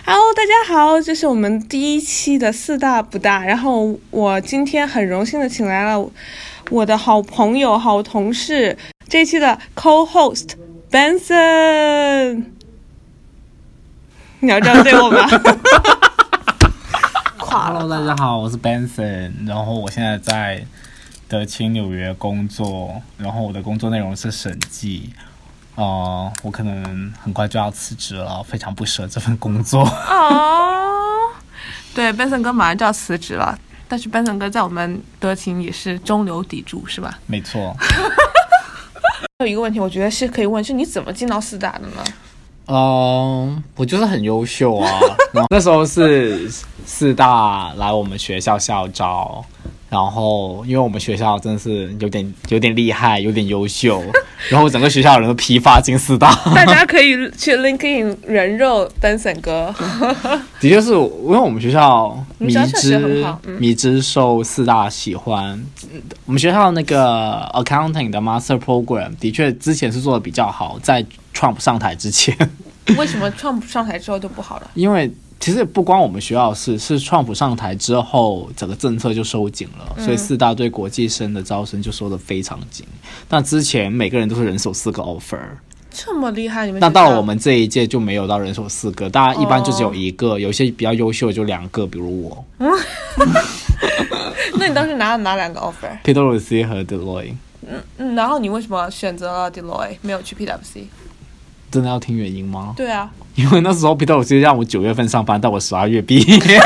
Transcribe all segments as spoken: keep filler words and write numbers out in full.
Hello， 大家好，这是我们第一期的四大不大。然后我今天很荣幸的请来了我的好朋友、好同事，这一期的 co-host Benson。你要这样对我吗 ？Hello， 大家好，我是 Benson， 然后我现在在德勤纽约工作，然后我的工作内容是审计。呃，我可能很快就要辞职了，非常不舍这份工作。 哦，对 ，Benson 哥马上就要辞职了，但是 Benson 哥在我们德勤也是中流砥柱，是吧？ 没错。 有一个问题，我觉得是可以问，是你怎么进到四大的呢？ 嗯、呃，我就是很优秀啊。然后那时候是四大来我们学校校招。然后因为我们学校真的是有点有点厉害，有点优秀，然后整个学校的人都批发进四大。 大家可以去 LinkedIn 人肉 Benson 哥。 的确是，因为我们学校迷之、 嗯、 迷之受四大喜欢。我们学校那个 accounting 的 master program 的确之前是做的比较好，在 Trump 上台之前。 为什么 Trump 上台之后就不好了？ 因为其实不光我们学校是，是 Trump 上台之后，整个政策就收紧了，嗯、所以四大对国际生的招生就收得非常紧。那之前每个人都是人手四个 offer， 这么厉害，你们那到了我们这一届就没有到人手四个，大家一般就只有一个，哦、有些比较优秀的就两个，比如我。 那你当时拿了哪两个 offer？P W C 和 Deloitte。 嗯嗯，然后你为什么选择了 Deloitte， 没有去 P W C？ 真的要听原因吗？ 对啊， 因为那时候 P W C 让我九月份上班，到我十二月毕业。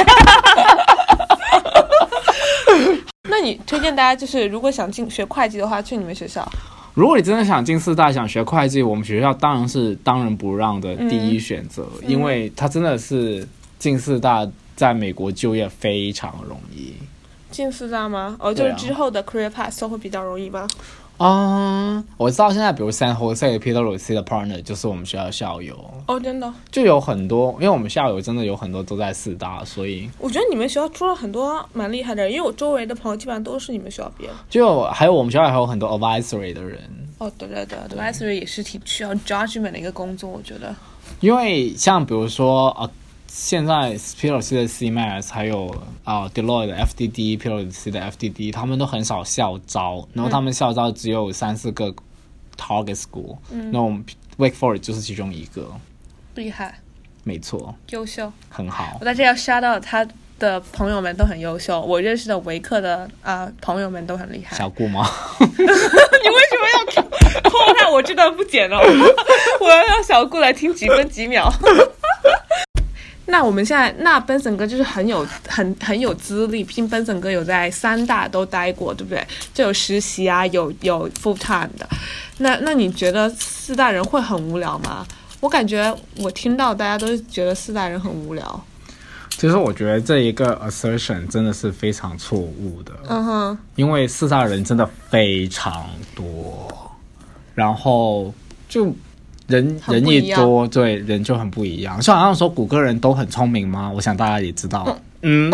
那你推荐大家就是如果想进学会计的话，去你们学校？ 如果你真的想进四大，想学会计，我们学校当然是当仁不让的第一选择，嗯、因为它真的是进四大在美国就业非常容易。 进四大吗？哦，就是之后的 career path 都会比较容易吗？ 嗯，我知道现在比如 San Jose P W C 的 partner 就是我们学校的校友哦，真的就有很多，因为我们校友真的有很多都在四大，所以我觉得你们学校出了很多蛮厉害的人，因为我周围的朋友基本上都是你们学校毕业的， 就还有我们学校还有很多 advisory 的人。 哦，对对对 ，advisory 也是挺需要 judgment 的一个工作，我觉得。 因为像比如说啊。现在 P W C 的 C M A S 还有啊、呃、Deloitte 的 F D D、P W C 的 F D D， 他们都很少校招，然后他们校招只有三四个 target school，嗯，那我们 Wake Forest 就是其中一个。 厉害， 没错， 优秀， 很好。 我在这要 shout out 他的朋友们都很优秀，我认识的维克的啊、呃、朋友们都很厉害。 小顾吗？ 你为什么要破坏我这段不剪了？我要让小顾来听几分几秒。那我们现在，那 Benson 哥就是很有很很有资历，毕竟 Benson 哥有在三大都待过，对不对？就有实习啊，有有 full time 的。那那你觉得四大人会很无聊吗？我感觉我听到大家都觉得四大人很无聊。 其实我觉得这一个 assertion 真的是非常错误的。 嗯哼， 因为四大人真的非常多，然后就。人人一多，对人就很不一样。就好像说谷歌人都很聪明吗？我想大家也知道。嗯，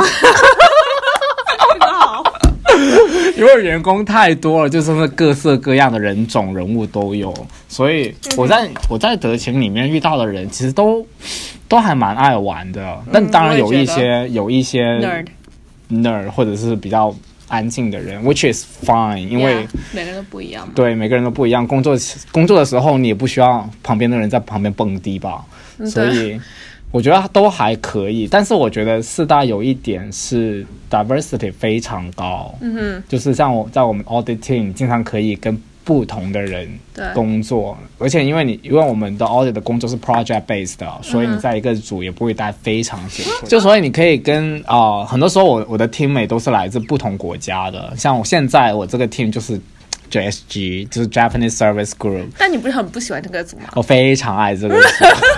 好， 因为员工太多了，就是各色各样的人种人物都有，所以我在、嗯、我在德勤里面遇到的人，其实都都还蛮爱玩的。嗯、但当然有一些有一些 nerd nerd 或者是比较。安静的人 which is fine， 因为、 yeah, 每个人都不一样嘛。 对，每个人都不一样。工作工作的时候，你也不需要旁边的人在旁边蹦迪吧，所以我觉得都还可以。但是我觉得四大有一点是 diversity 非常高，嗯哼，就是像我在我们 audit team 经常可以跟不同的人工作，而且因为你因为我们的 audit 的工作是 project based 的，所以你在一个组也不会待非常久，嗯、就所以你可以跟啊、呃、很多时候我我的 teammate 都是来自不同国家的，像我现在我这个 team 就是 J S G， 就是 Japanese Service Group。 但你不是很不喜欢这个组吗？ 我非常爱这个组。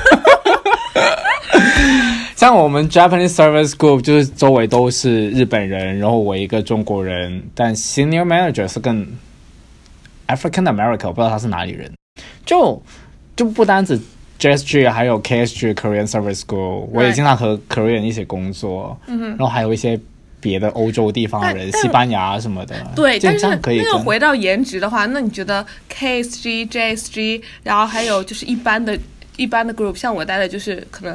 像我们 Japanese Service Group 就是周围都是日本人，然后我一个中国人，但 Senior Manager 是更African American， 我不知道他是哪里人，就就不单止 J S G， 还有 K S G Korean Service School， 我也经常和 Korean 一起工作，嗯、然后还有一些别的欧洲地方的人，西班牙什么的。 对，但是可以那个回到颜值的话，那你觉得 K S G、J S G， 然后还有就是一般的、一般的 group， 像我待的就是可能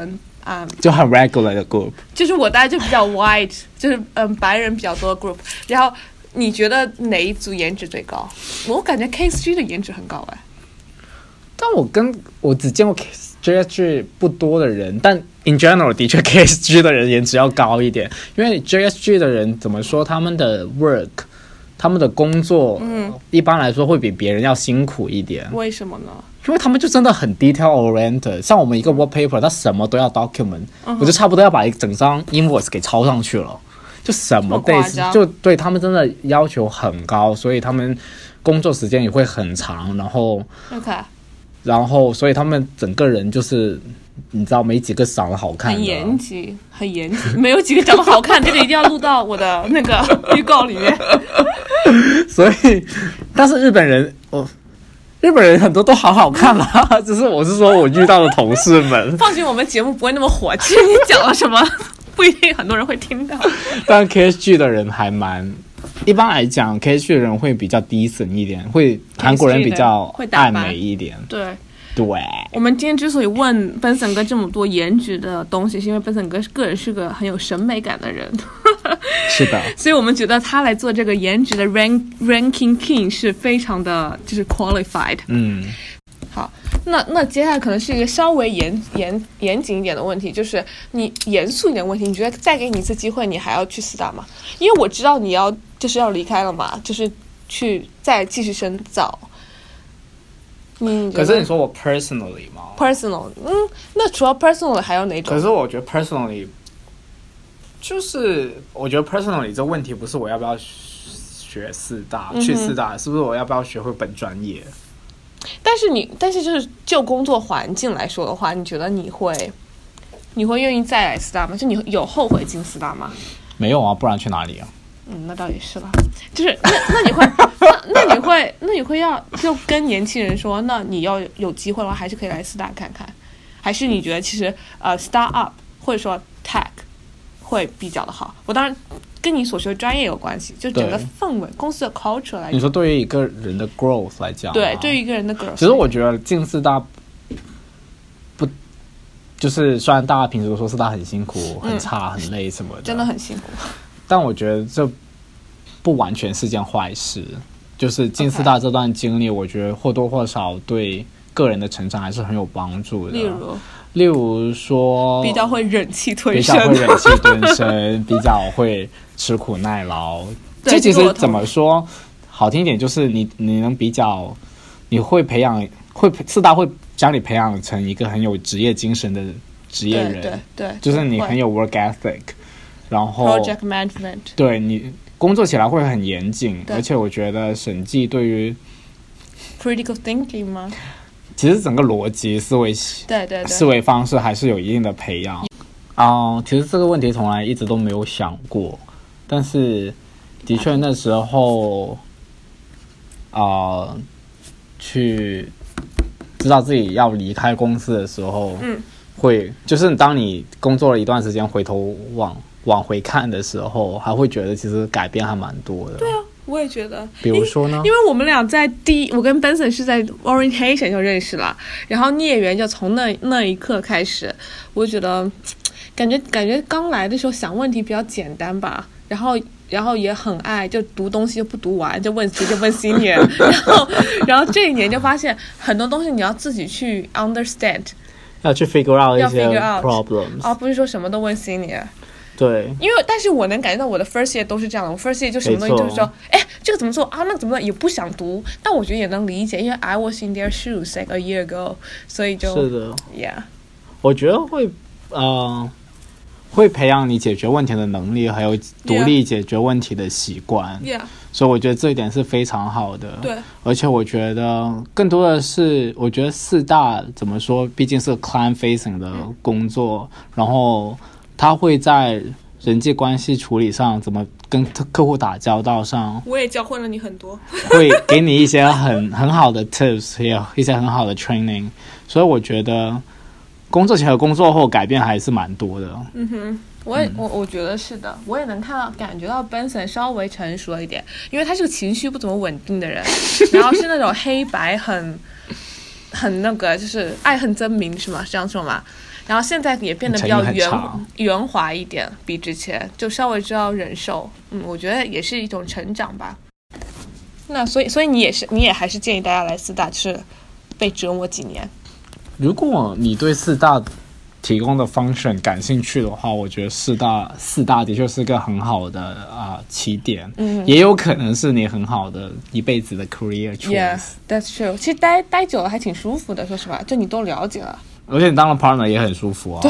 啊、嗯， 就很 regular 的 group。 就是我大概就比较 white， 就是嗯白人比较多的 group。然后你觉得哪一组颜值最高？我感觉 K S G 的颜值很高哎。 但我跟我只见过 J S G 不多的人，但 in general 的确 K S G 的人颜值要高一点，因为 J S G 的人怎么说，他们的 work， 他们的工作，嗯，一般来说会比别人要辛苦一点。 为什么呢？ 因为他们就真的很 detail oriented， 像我们一个 work paper， 它什么都要 document，嗯，我就差不多要把一整张 invoice 给抄上去了，就什么 days， 就对他们真的要求很高，所以他们工作时间也会很长，然后 OK。 然后，所以他们整个人就是，你知道，没几个长得好看的， 很严谨，很严谨，没有几个长得好看，这个一定要录到我的那个预告里面。 所以，但是日本人，哦，日本人很多都好好看啦，只是我是说我遇到的同事们。 放心，我们节目不会那么火，其实你讲了什么，不一定很多人会听到。 但 K S G 的人还蛮。一般来讲 K S G 的人会比较低层一点，会韩国人比较爱美一点。 对对， 我们今天之所以问 Benson 哥这么多颜值的东西，是因为 Benson 哥个人是个很有审美感的人。 是的， 所以我们觉得他来做这个颜值的 rank ranking king 是非常的就是 qualified。 嗯， 好，那那接下来可能是一个稍微严严严谨一点的问题，就是你严肃一点的问题，你觉得再给你一次机会，你还要去四大吗？因为我知道你要就是要离开了嘛，就是去再继续深造。嗯， 可是你说我 personally 吗 ？personal， 嗯，那除了 personal 还有哪种？ 可是我觉得 personally， 就是我觉得 personally 这问题不是我要不要学四大，嗯、去四大，是不是我要不要学会本专业？ 但是你，但是就是就工作环境来说的话，你觉得你会，你会愿意再来四大吗？就你有后悔进四大吗？ 没有啊，不然去哪里啊？ 嗯，那倒也是了。就是那那你会那那你会那你会要就跟年轻人说，那你要有机会的话，还是可以来四大看看，还是你觉得其实呃 start up 或者说 tech 会比较的好？我当然跟你所学的专业有关系，就整个氛围、公司的 culture 来讲。你说对于一个人的 growth 来讲， 对，对于一个人的 growth， 其实我觉得进四大不就是虽然大家平时都说四大很辛苦、很差、很累什么的， 真的很辛苦。 但我觉得这不完全是件坏事，就是进四大这段经历， okay. 我觉得或多或少对个人的成长还是很有帮助的。 例如， 例如说， 比较会忍气吞声， 比较会忍气吞声，比较会吃苦耐劳。这其实怎么说，好听一点就是你你能比较，你会培养，会四大会将你培养成一个很有职业精神的职业人， 对 对, 对， 就是你很有 work ethic。然后 project management， 对，你工作起来会很严谨，而且我觉得审计对于 critical thinking 吗？ 其实整个逻辑思维， 对对对， 思维方式还是有一定的培养。啊、uh, 其实这个问题从来一直都没有想过，但是的确那时候啊、呃、去知道自己要离开公司的时候，嗯，会就是当你工作了一段时间回头往往回看的时候，还会觉得其实改变还蛮多的。 对啊，我也觉得。 比如说呢？ 因为我们俩在第一，我跟 Benson 是在 orientation 就认识了，然后孽缘就从那那一刻开始，我就觉得感觉感觉刚来的时候想问题比较简单吧，然后然后也很爱就读东西就不读完就问直接问 senior， 然后然后这一年就发现很多东西你要自己去 understand， 要去 figure out 一些 problems， 而不是说什么都问 senior。 对， 因为但是我能感觉到我的 first year 都是这样的，我 first year 就什么东西就是说，哎，这个怎么做啊？那怎么做也不想读，但我觉得也能理解，因为 I was in their shoes like a year ago， 所以就是的 ，yeah， 我觉得会呃会培养你解决问题的能力，还有独立解决问题的习惯。 Yeah， 所以我觉得这一点是非常好的。 对， 而且我觉得更多的是，我觉得四大怎么说，毕竟是 client facing 的工作，嗯、然后。他会在人际关系处理上，怎么跟客户打交道上， 我也教会了你很多， 会给你一些很很好的 tips， 也有一些很好的 training， 所以我觉得工作前和工作后改变还是蛮多的。 嗯哼，我也、嗯、我我觉得是的，我也能看到感觉到 Benson 稍微成熟了一点，因为他是个情绪不怎么稳定的人，然后是那种黑白很很那个，就是爱恨分明是吗？是这样说吗？ 然后现在也变得比较圆圆滑一点，比之前就稍微知道忍受。嗯，我觉得也是一种成长吧。那所以所以你也是你也还是建议大家来四大，就是被折磨几年。 如果你对四大提供的 function 感兴趣的话，我觉得四大四大的确是个很好的啊、呃、起点，嗯，也有可能是你很好的一辈子的 career choice。 Yeah, that's true。 其实待待久了还挺舒服的，说实话，就你都了解了， 而且你当了 partner 也很舒服啊。 对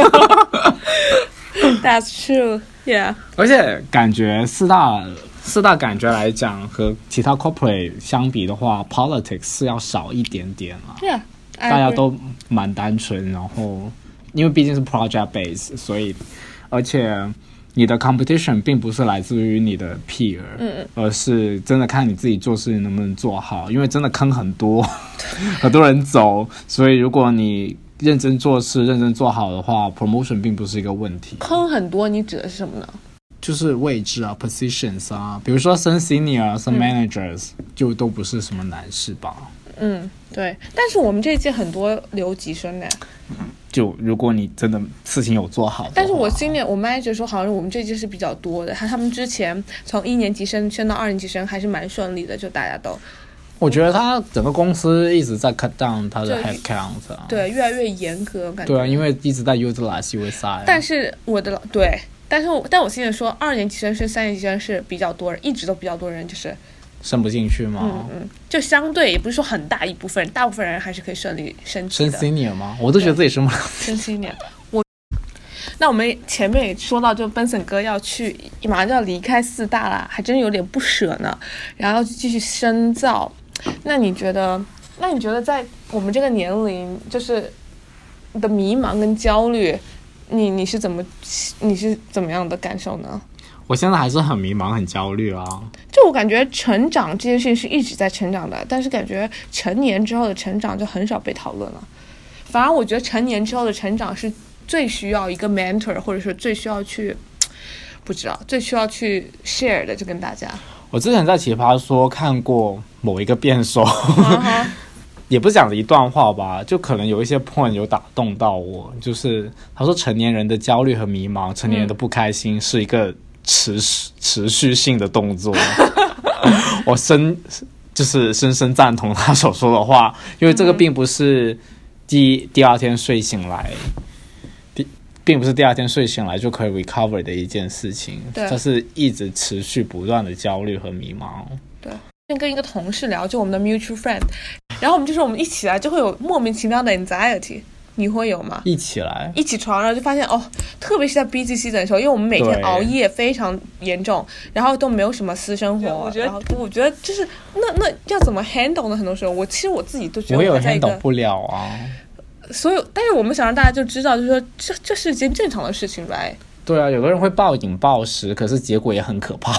That's true, yeah。 而且感觉四大四大感觉来讲和其他 corporate 相比的话 politics 是要少一点点啦。 Yeah， 大家都蛮单纯，然后因为毕竟是 project base， 所以而且你的 competition 并不是来自于你的 peer， 嗯，而是真的看你自己做事情能不能做好，因为真的坑很多很多人走，所以如果你认真做事认真做好的话 promotion 并不是一个问题。 坑很多你指的是什么呢？ 就是位置啊 positions 啊，比如说升 senior 升 managers、嗯、就都不是什么难事吧。 嗯，对，但是我们这一届很多留级生的， 就如果你真的事情有做好的话。 但是我今年我 manager 说好像我们这届是比较多的，他他们之前从一年级生升到二年级生还是蛮顺利的，就大家都， 我觉得他整个公司一直在 cut down 他的 headcount、啊、 对，越来越严格感觉。 对啊，因为一直在 utilize U S I。 但是我的对，但是我但我现在说二年级生升三年级生是比较多人，一直都比较多人就是升不进去吗？ 嗯嗯，就相对也不是说很大一部分人，大部分人还是可以顺利升级的。 升 senior 吗？我都觉得自己升不了。 升 senior， 我那我们前面也说到，就 Benson 哥要去，马上就要离开四大啦，还真有点不舍呢。然后继续深造，那你觉得？那你觉得在我们这个年龄，就是你的迷茫跟焦虑，你你是怎么你是怎么样的感受呢？ 我现在还是很迷茫很焦虑啊， 就我感觉成长这件事情是一直在成长的，但是感觉成年之后的成长就很少被讨论了，反而我觉得成年之后的成长是最需要一个 mentor， 或者说最需要去不知道最需要去 share 的，就跟大家。 我之前在奇葩说看过某一个辩手、uh-huh. 也不是讲的一段话吧，就可能有一些 point 有打动到我，就是他说成年人的焦虑和迷茫，成年人的不开心是一个持续持续性的动作。我深就是深深赞同他所说的话，因为这个并不是第第二天睡醒来，第并不是第二天睡醒来就可以 recover 的一件事情，它是一直持续不断的焦虑和迷茫。 对，跟一个同事聊，就我们的 mutual friend， 然后我们就说我们一起来就会有莫名其妙的 anxiety。你会有吗？ 一起来一起床，然后就发现哦，特别是在 busy season 的时候，因为我们每天熬夜非常严重，然后都没有什么私生活。我觉得，我觉得就是那那要怎么 handle 呢？很多时候，我其实我自己都觉得我有 handle 不了啊。 所有，但是我们想让大家就知道，就是说这这是一件正常的事情，right？ 对啊，有个人会暴饮暴食，可是结果也很可怕。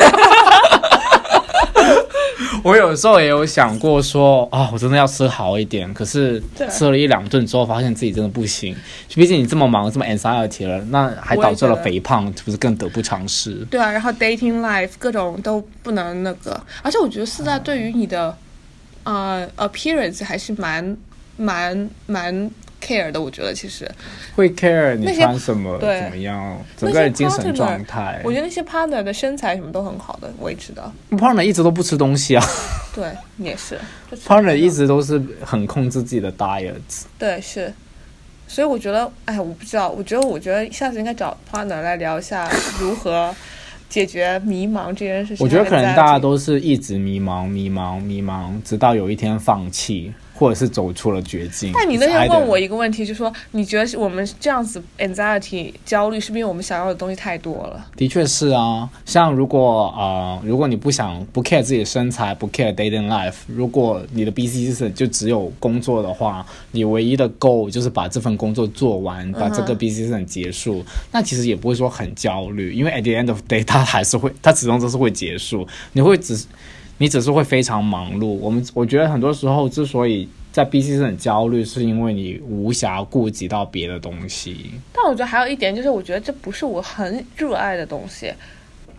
我有时候也有想过说啊，我真的要吃好一点，可是吃了一两顿之后发现自己真的不行，毕竟你这么忙这么 anxiety 了，那还导致了肥胖，不是更得不偿失？对啊，然后 dating life 各种都不能那个，而且我觉得四大对于你的、嗯、呃 appearance 还是蛮蛮蛮 care 的，我觉得其实会 care 你穿什么怎么样，整个人精神状态。 我觉得那些 partner 的身材什么都很好的维持的。 partner 一直都不吃东西啊。 对，也是。 partner 一直都是很控制自己的 diet。 对，是。所以我觉得，哎，我不知道，我觉得，我觉得下次应该找 partner 来聊一下如何解决迷茫这件事情。 我觉得可能大家都是一直迷茫、迷茫、迷茫，直到有一天放弃。或者是走出了绝境。 但你那天问我一个问题，就是说你觉得我们这样子 anxiety 焦虑是不是因为我们想要的东西太多了？ 的确是啊，像如果呃如果你不想不 care 自己的身材，不 care dating life， 如果你的 busy season 就只有工作的话，你唯一的 goal 就是把这份工作做完，把这个 busy season 结束、嗯、那其实也不会说很焦虑，因为 at the end of the day 它还是会，它始终都是会结束，你会只你只是会非常忙碌。我们我觉得很多时候之所以在 B C 是很焦虑，是因为你无暇顾及到别的东西。 但我觉得还有一点就是，我觉得这不是我很热爱的东西。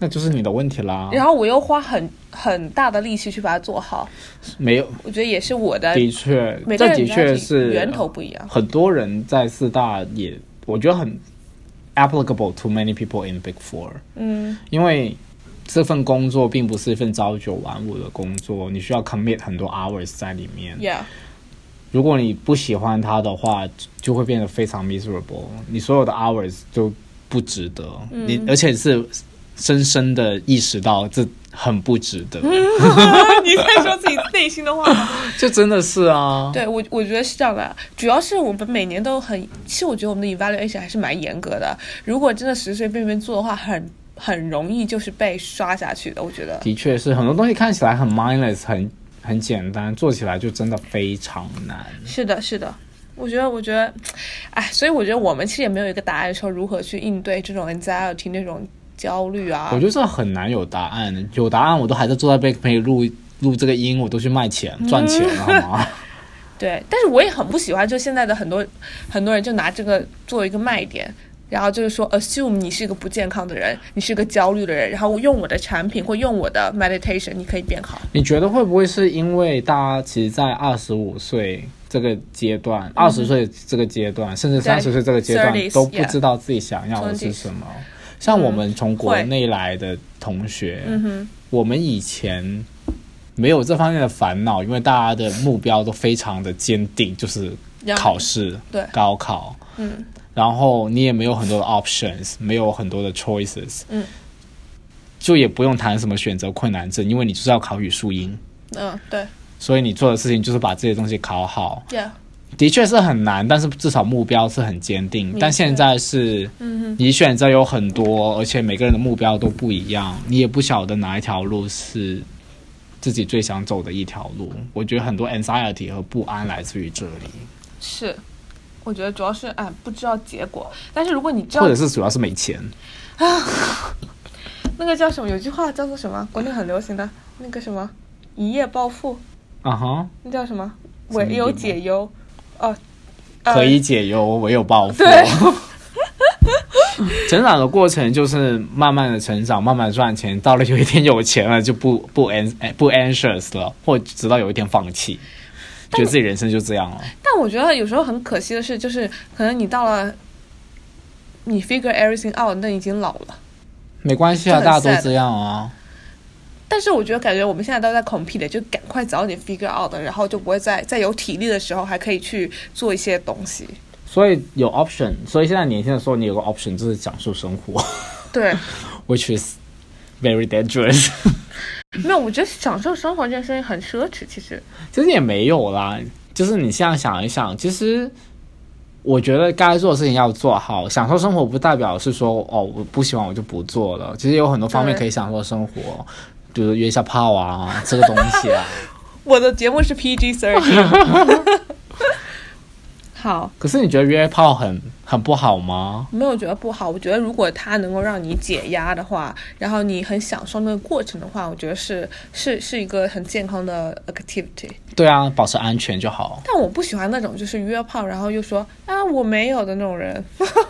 那就是你的问题啦。 然后我又花很很大的力气去把它做好， 没有， 我觉得也是我的。 的确， 每个人这的确是源头不一样。 很多人在四大也，我觉得很 applicable to many people in Big Four。 嗯， 因为这份工作并不是一份朝九晚五的工作，你需要 commit 很多 hours 在里面。 Yeah。 如果你不喜欢它的话，就会变得非常 miserable。你所有的 hours 都不值得，嗯、你而且是深深的意识到这很不值得。 你在说自己内心的话吗？ 就真的是啊。 对，我我觉得是这样的，主要是我们每年都很，其实我觉得我们的 evaluation 还是蛮严格的。如果真的随随便便做的话，很很容易就是被刷下去的。我觉得的确是很多东西看起来很 mindless， 很很简单，做起来就真的非常难。 是的，是的。我觉得，我觉得，哎，所以我觉得我们其实也没有一个答案，说如何去应对这种 anxiety 那种焦虑啊。 我觉得这很难有答案，有答案我都还在坐在贝克培录录这个音，我都去卖钱赚钱了，好吗？ 对，但是我也很不喜欢，就现在的很多很多人就拿这个作为一个卖点。然后就是说 assume 你是一个不健康的人，你是一个焦虑的人，然后用我的产品或用我的 meditation 你可以变好。 你觉得会不会是因为大家其实在二十五岁这个阶段、嗯、二十岁这个阶段甚至三十岁这个阶段都不知道自己想要的是什么、yeah. 像我们从国内来的同学、嗯、我们以前没有这方面的烦恼，因为大家的目标都非常的坚定，就是考试、 对， 高考， 嗯， 然后你也没有很多的 options， 没有很多的 choices， 嗯， 就也不用谈什么选择困难症，因为你就是要考语数英， 嗯，对， 所以你做的事情就是把这些东西考好。 Yeah. 的确是很难，但是至少目标是很坚定。但现在是，你选择有很多，而且每个人的目标都不一样，你也不晓得哪一条路是自己最想走的一条路。我觉得很多 anxiety 和不安来自于这里。 是。我觉得主要是哎不知道结果，但是如果你知道， 或者是主要是没钱啊。那个叫什么？有句话叫做什么？国内很流行的那个什么一夜暴富啊哈， 那叫什么？唯有解忧哦， 可以解忧，唯有暴富。 对。 成长的过程就是慢慢的成长，慢慢赚钱，到了有一天有钱了就不不 an 不 anxious 了，或直到有一天放弃。觉得自己人生就这样了。 但我觉得有时候很可惜的是，就是可能你到了你 figure everything out， 那已经老了。 没关系啊，大家都这样啊。 但是我觉得感觉我们现在都在 compete， 就赶快早点 figure out， 然后就不会在在有体力的时候还可以去做一些东西。 所以有 option， 所以现在年轻的时候你有个 option 就是享受生活。 对。 Which is very dangerous。 没有，我觉得享受生活这件事情很奢侈，其实其实也没有啦，就是你现在想一想，其实我觉得该做的事情要做好。享受生活不代表是说哦我不喜欢我就不做了，其实有很多方面可以享受生活，比如约一下炮啊，这个东西啊。 我的节目是 P G 十三。好， 可是你觉得约炮很很不好吗？ 没有觉得不好，我觉得如果它能够让你解压的话，然后你很享受那个过程的话，我觉得是是是一个很健康的 activity。 对啊，保持安全就好。 但我不喜欢那种就是约炮然后又说啊我没有的那种人。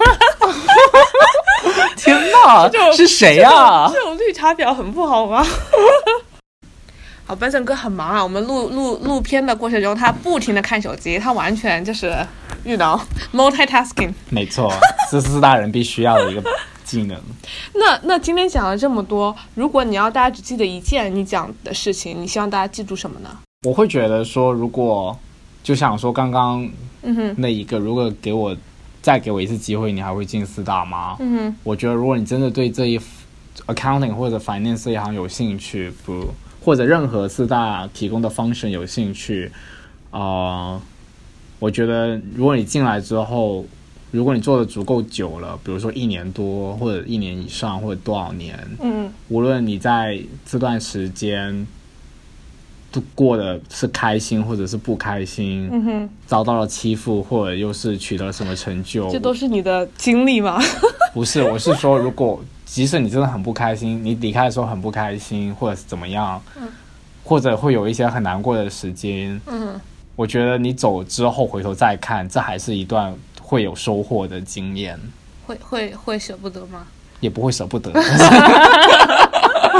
天哪，是谁啊？ 这种绿茶婊很不好吗？好，本身哥很忙啊，我们录录录片的过程中他不停的看手机，他完全就是you know multitasking。 没错， 这是四大人必须要的一个技能。 那那今天讲了这么多，如果你要大家只记得一件你讲的事情，你希望大家记住什么呢？ 我会觉得说，如果就想说刚刚那一个、嗯、如果给我再给我一次机会，你还会进四大吗？ 嗯哼， 我觉得如果你真的对这一 accounting 或者 finance 这一行有兴趣，不或者任何四大提供的 function 有兴趣，呃，我觉得如果你进来之后，如果你做的足够久了，比如说一年多或者一年以上或者多少年， 嗯， 无论你在这段时间都过的是开心或者是不开心， 嗯哼， 遭到了欺负或者又是取得了什么成就， 这都是你的经历吗？ 不是，我是说如果即使你真的很不开心，你离开的时候很不开心或者是怎么样、 嗯、 或者会有一些很难过的时间、 嗯、 我觉得你走之后回头再看，这还是一段会有收获的经验。 会会会舍不得吗？ 也不会舍不得。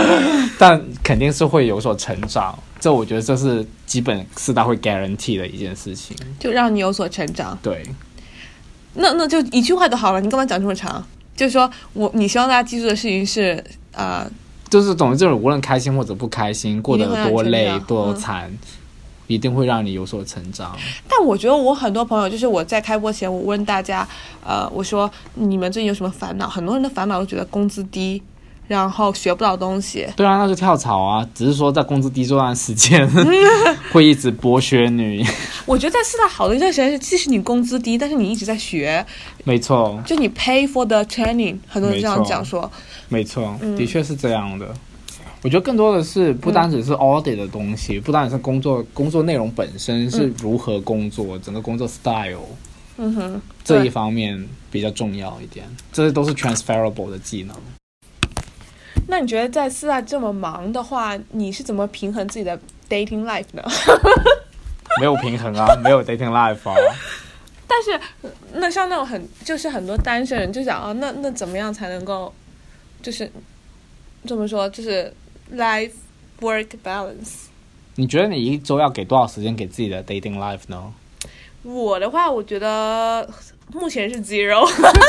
但肯定是会有所成长。这我觉得这是基本四大会 guarantee 的一件事情， 就让你有所成长。 对， 那那就一句话就好了，你干嘛讲这么长？就是说我你希望大家记住的事情是啊、呃， 就是总之就是无论开心或者不开心，过得多累多惨、嗯，一定会让你有所成长。 但我觉得我很多朋友，就是我在开播前我问大家，呃，我说你们最近有什么烦恼？很多人的烦恼都觉得工资低，然后学不到东西。 对啊，那就跳槽啊，只是说在工资低这段时间会一直剥削你。我觉得在四大好的一段时间是，即使你工资低，但是你一直在学。 没错， 就你 pay for the training， 很多人这样讲说。 没错，嗯、的确是这样的。我觉得更多的是不单只是 audit 的东西，嗯、不单只是工作工作内容本身是如何工作，嗯、整个工作 style， 嗯哼， 这一方面比较重要一点，这些都是 transferable 的技能。 那你觉得在四大这么忙的话，你是怎么平衡自己的 dating life 呢？ 没有平衡啊，没有 dating life 啊。 但是那像那种很就是很多单身人就想啊，那那怎么样才能够就是怎么说就是 life work balance？ 你觉得你一周要给多少时间给自己的 dating life 呢？ 我的话，我觉得目前是 zero。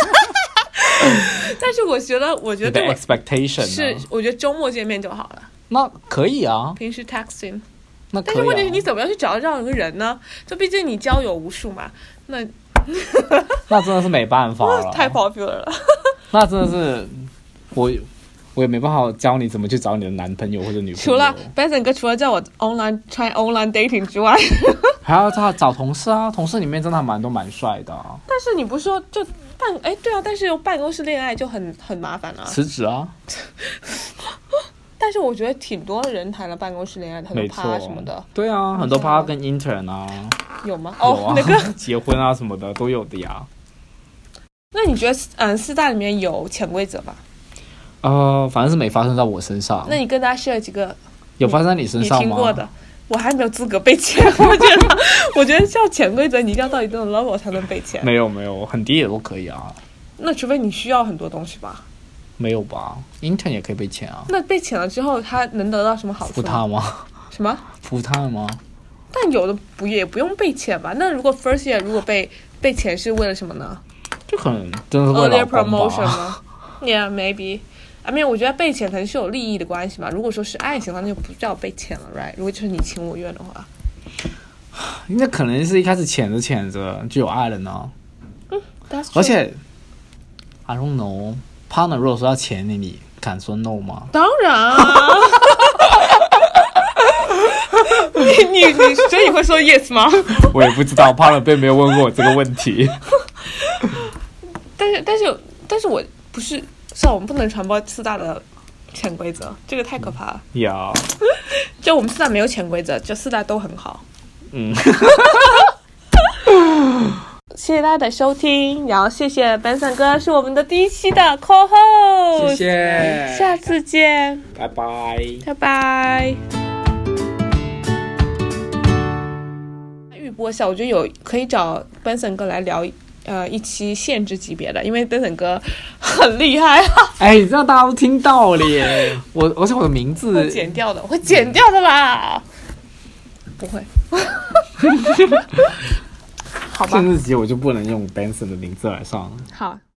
但是我觉得，我觉得你的 expectation 是，我觉得周末见面就好了。 那可以啊， 平时 texting。 那可以啊， 但是问题是你怎么样去找到这样一个人呢？就毕竟你交友无数嘛，那那真的是没办法了， 太 popular 了。 那真的是我。我也没办法教你怎么去找你的男朋友或者女朋友。 除了 Benson 哥，除了叫我 online try online dating 之外， 还要找找同事啊，同事里面真的还蛮多蛮帅的、啊。 但是你不是说就办哎对啊，但是办公室恋爱就很很麻烦啊。 辞职啊！ 但是我觉得挺多人谈了办公室恋爱，很多趴什么的。 对啊，很多趴跟 intern 啊。 有吗？ 有哦， 啊， 那个结婚啊什么的都有的呀。 那你觉得嗯四大里面有潜规则吗？ 呃，反正是没发生在我身上。 那你跟大家 share 几个有发生在你身上吗？ 你听过的，我还没有资格被签。我觉得，我觉得像潜规则，你一定要到一定的 level 才能被签。 没有没有，很低也都可以啊。 那除非你需要很多东西吧？ 没有吧 ？intern 也可以被签啊。 那被签了之后，他能得到什么好处？ 服他吗？ 什么？ 服他吗？ 但有的不也不用被签吧？那如果 first year 如果被被签是为了什么呢？ 就可能真的是为了老公吧 promotion 吗 ？Yeah, maybe. I mean, 我觉得被遣可能是有利益的关系嘛。如果说是爱情的话，那就不叫被遣了 ，right？ 如果就是你情我愿的话， 那可能是一开始遣着遣着就有爱了呢。 嗯， 而且 I don't know， partner 如果说要遣你，你敢说 no 吗？ 当然啊。你你你，所以你会说 yes 吗？ 我也不知道 ，partner 并没有问过我这个问题。 但是但是但是我不是。是啊，我们不能传播四大的潜规则，这个太可怕了。 呀、yeah. 就我们四大没有潜规则，就四大都很好。 嗯。 谢谢大家的收听，然后谢谢 Benson 哥是我们的第一期的 co-host， 谢谢， 下次见， 拜拜， 拜拜。预播一下，我觉得有可以找 Benson 哥来聊。呃，一期限制级别的，因为登登哥很厉害啊！ 哎，你这样大家都听到了耶！我而且我的名字会剪掉的，我会剪掉的啦，不会。好吧， 限制级我就不能用 Benson 的名字来上。 好。